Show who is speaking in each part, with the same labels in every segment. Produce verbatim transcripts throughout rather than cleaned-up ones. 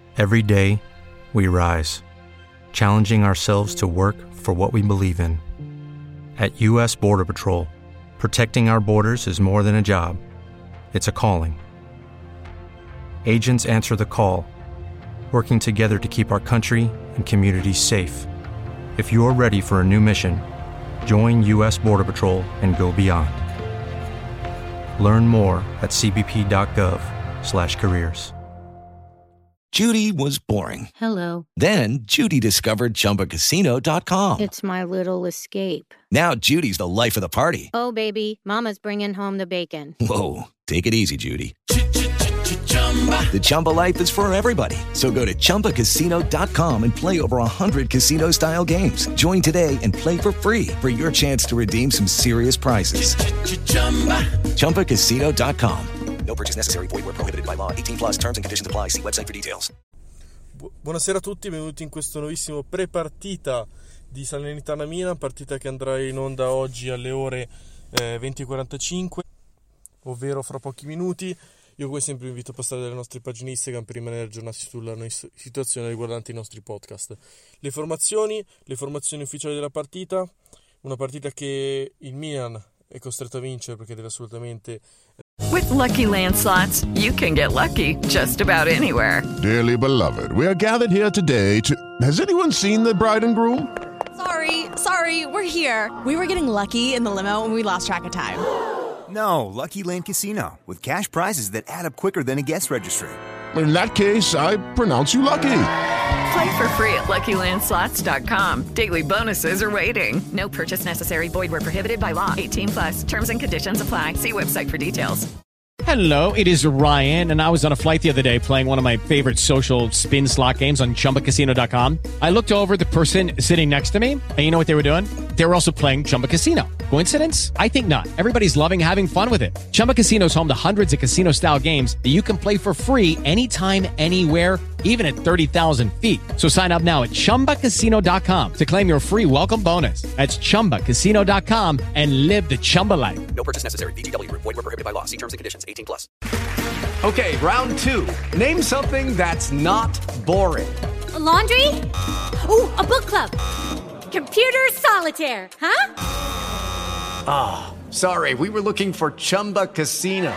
Speaker 1: Every day, we rise, challenging ourselves to work for what we believe in. At U S Border Patrol, protecting our borders is more than a job. It's a calling. Agents answer the call, working together to keep our country and communities safe. If you're ready for a new mission, join U S Border Patrol and go beyond. Learn more at c b p dot gov slash careers.
Speaker 2: Judy was boring.
Speaker 3: Hello.
Speaker 2: Then Judy discovered Chumba Casino dot com.
Speaker 3: It's my little escape.
Speaker 2: Now Judy's the life of the party.
Speaker 3: Oh, baby, mama's bringing home the bacon.
Speaker 2: Whoa, take it easy, Judy. The Chumba life is for everybody. So go to Chumba Casino dot com and play over one hundred casino-style games. Join today and play for free for your chance to redeem some serious prizes. Chumba Casino dot com. No purchase necessary. Void where prohibited by law. eighteen plus terms and conditions apply. See website for details.
Speaker 4: Bu- Buonasera a tutti, benvenuti in questo nuovissimo pre-partita di Salernitana Milan, partita che andrà in onda oggi alle ore eh, venti e quarantacinque, ovvero fra pochi minuti. Io come sempre vi invito a passare dalle nostre pagine Instagram per rimanere aggiornati sulla situazione riguardante i nostri podcast. Le formazioni, le formazioni ufficiali della partita, una partita che il Milan è costretto a vincere perché deve assolutamente.
Speaker 5: With Lucky Land Slots, you can get lucky just about anywhere.
Speaker 6: Dearly beloved, we are gathered here today to... Has anyone seen the bride and groom?
Speaker 7: Sorry, sorry, we're here. We were getting lucky in the limo and we lost track of time.
Speaker 8: No, Lucky Land Casino, with cash prizes that add up quicker than a guest registry.
Speaker 6: In that case, I pronounce you lucky.
Speaker 5: Play for free at lucky land slots dot com. Daily bonuses are waiting. No purchase necessary. Void where prohibited by law. eighteen plus. Terms and conditions apply. See website for details.
Speaker 9: Hello, it is Ryan, and I was on a flight the other day playing one of my favorite social spin slot games on Chumba Casino dot com. I looked over at the person sitting next to me, and you know what they were doing? They were also playing Chumba Casino. Coincidence? I think not. Everybody's loving having fun with it. Chumba Casino is home to hundreds of casino-style games that you can play for free anytime, anywhere, even at thirty thousand feet. So sign up now at Chumba Casino dot com to claim your free welcome bonus. That's Chumba Casino dot com and live the Chumba life.
Speaker 2: No purchase necessary. V G W. Void where prohibited by law. See terms and conditions. eighteen plus.
Speaker 10: Okay, round two. Name something that's not boring.
Speaker 11: A laundry? Ooh, a book club. Computer solitaire, huh?
Speaker 10: Ah, oh, sorry, we were looking for Chumba Casino.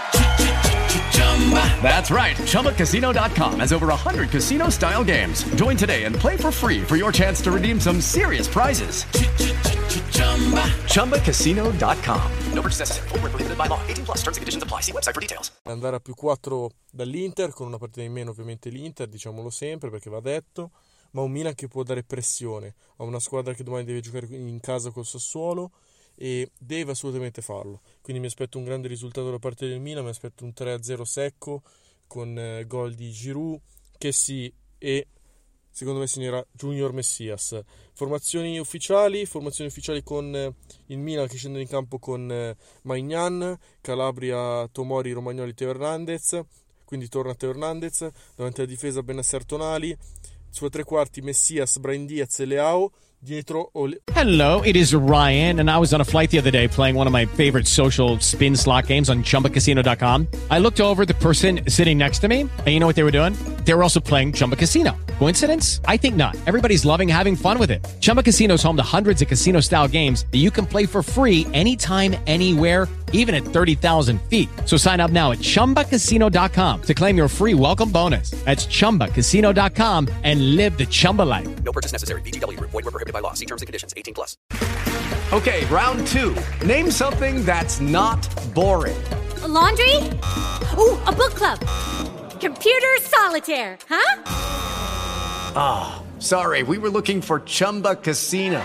Speaker 10: That's right, Chumba Casino dot com has over one hundred casino-style games. Join today and play for free for your chance to redeem some serious prizes. Chumba Casino dot com.
Speaker 2: No purchase necessary. Void where prohibited by law. eighteen plus. Terms and conditions apply. See website for details.
Speaker 4: Andare a più quattro dall'Inter, con una partita in meno ovviamente l'Inter, diciamolo sempre perché va detto, ma un Milan che può dare pressione a una squadra che domani deve giocare in casa col Sassuolo e deve assolutamente farlo. Quindi mi aspetto un grande risultato da parte del Milan, mi aspetto un tre a zero secco con eh, gol di Giroud, Kessie e secondo me segnerà Junior Messias. Formazioni ufficiali, formazioni ufficiali con eh, il Milan che scende in campo con eh, Maignan, Calabria, Tomori, Romagnoli, Teo Hernandez, quindi torna Teo Hernandez, davanti alla difesa Bennacer Tonali, suoi tre quarti Messias, Brahim Diaz e Leao, dietro Ole-
Speaker 9: Hello, it is Ryan, and I was on a flight the other day playing one of my favorite social spin slot games on Chumba Casino dot com. I looked over at the person sitting next to me, and you know what they were doing? They were also playing Chumba Casino. Coincidence? I think not. Everybody's loving having fun with it. Chumba Casino is home to hundreds of casino-style games that you can play for free anytime, anywhere, even at thirty thousand feet. So sign up now at Chumba Casino dot com to claim your free welcome bonus. That's Chumba Casino dot com and live the Chumba life.
Speaker 2: No purchase necessary. V G W. Void where prohibited by law. See terms and conditions. eighteen plus.
Speaker 10: Okay, round two. Name something that's not boring.
Speaker 11: A laundry? Ooh, a book club. Computer solitaire, huh?
Speaker 10: Ah, oh, sorry, we were looking for Chumba Casino.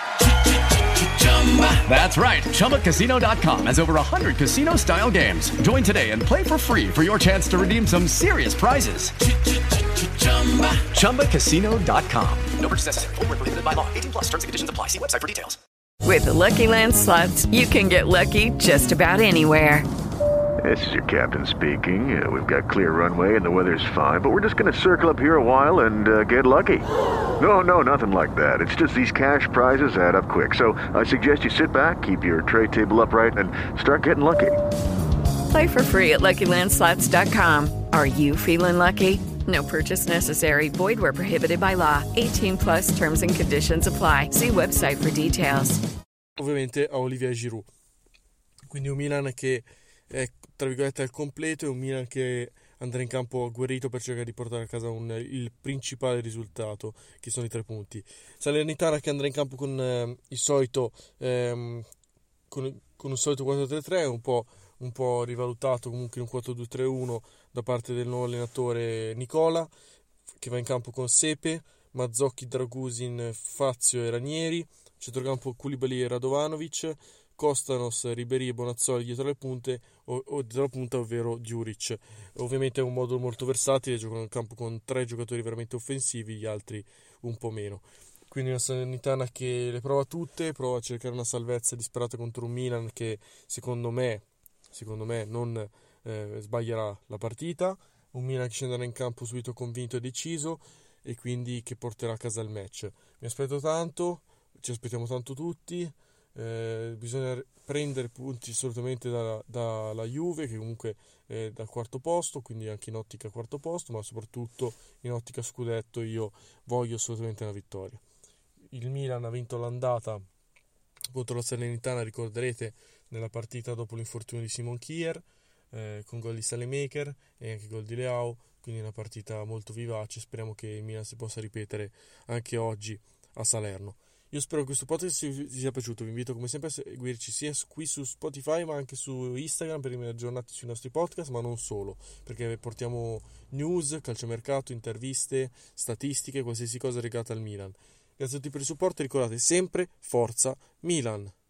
Speaker 10: That's right, Chumba Casino dot com has over one hundred casino-style games. Join today and play for free for your chance to redeem some serious prizes. Chumba Casino dot com.
Speaker 2: No purchase necessary. Void where prohibited by law. eighteen plus. Terms and conditions apply. See website for details.
Speaker 5: With the Lucky Land Slots, you can get lucky just about anywhere.
Speaker 12: This is your captain speaking. Uh, we've got clear runway and the weather's fine, but we're just going to circle up here a while and uh, get lucky. No, no, nothing like that. It's just these cash prizes add up quick. So I suggest you sit back, keep your tray table upright, and start getting lucky.
Speaker 5: Play for free at lucky land slots dot com. Are you feeling lucky? No purchase necessary. Void where prohibited by law. eighteen plus terms and conditions apply. See website for details.
Speaker 4: Ovviamente a Olivier Giroud. Quindi un Milan che è, tra virgolette, al completo, e un Milan che andrà in campo agguerrito per cercare di portare a casa un, il principale risultato, che sono i tre punti. Salernitana che andrà in campo con eh, il solito ehm, con, con un solito quattro tre tre, un po', un po' rivalutato comunque in un quattro due tre uno da parte del nuovo allenatore Nicola, che va in campo con Sepe, Mazzocchi, Dragusin, Fazio e Ranieri, centrocampo Koulibaly e Radovanovic, Kostanos, Ribéry e Bonazzoli dietro le punte, o, o dietro la punta, ovvero Djuric. Ovviamente è un modo molto versatile, giocano in campo con tre giocatori veramente offensivi, gli altri un po' meno. Quindi una Salernitana che le prova tutte, prova a cercare una salvezza disperata contro un Milan che secondo me, secondo me non eh, sbaglierà la partita, un Milan che scenderà in campo subito convinto e deciso, e quindi che porterà a casa il match. Mi aspetto tanto, ci aspettiamo tanto tutti. Eh, bisogna prendere punti assolutamente dalla, dalla Juve, che comunque è dal quarto posto, quindi anche in ottica quarto posto, ma soprattutto in ottica scudetto io voglio assolutamente una vittoria. Il Milan ha vinto l'andata contro la Salernitana, ricorderete, nella partita dopo l'infortunio di Simon Kjaer, eh, con gol di Salemaker e anche gol di Leao, quindi una partita molto vivace. Speriamo che il Milan si possa ripetere anche oggi a Salerno. Io spero che questo podcast vi sia piaciuto, vi invito come sempre a seguirci sia qui su Spotify ma anche su Instagram per rimanere aggiornati sui nostri podcast, ma non solo, perché portiamo news, calciomercato, interviste, statistiche, qualsiasi cosa legata al Milan. Grazie a tutti per il supporto e ricordate sempre Forza Milan!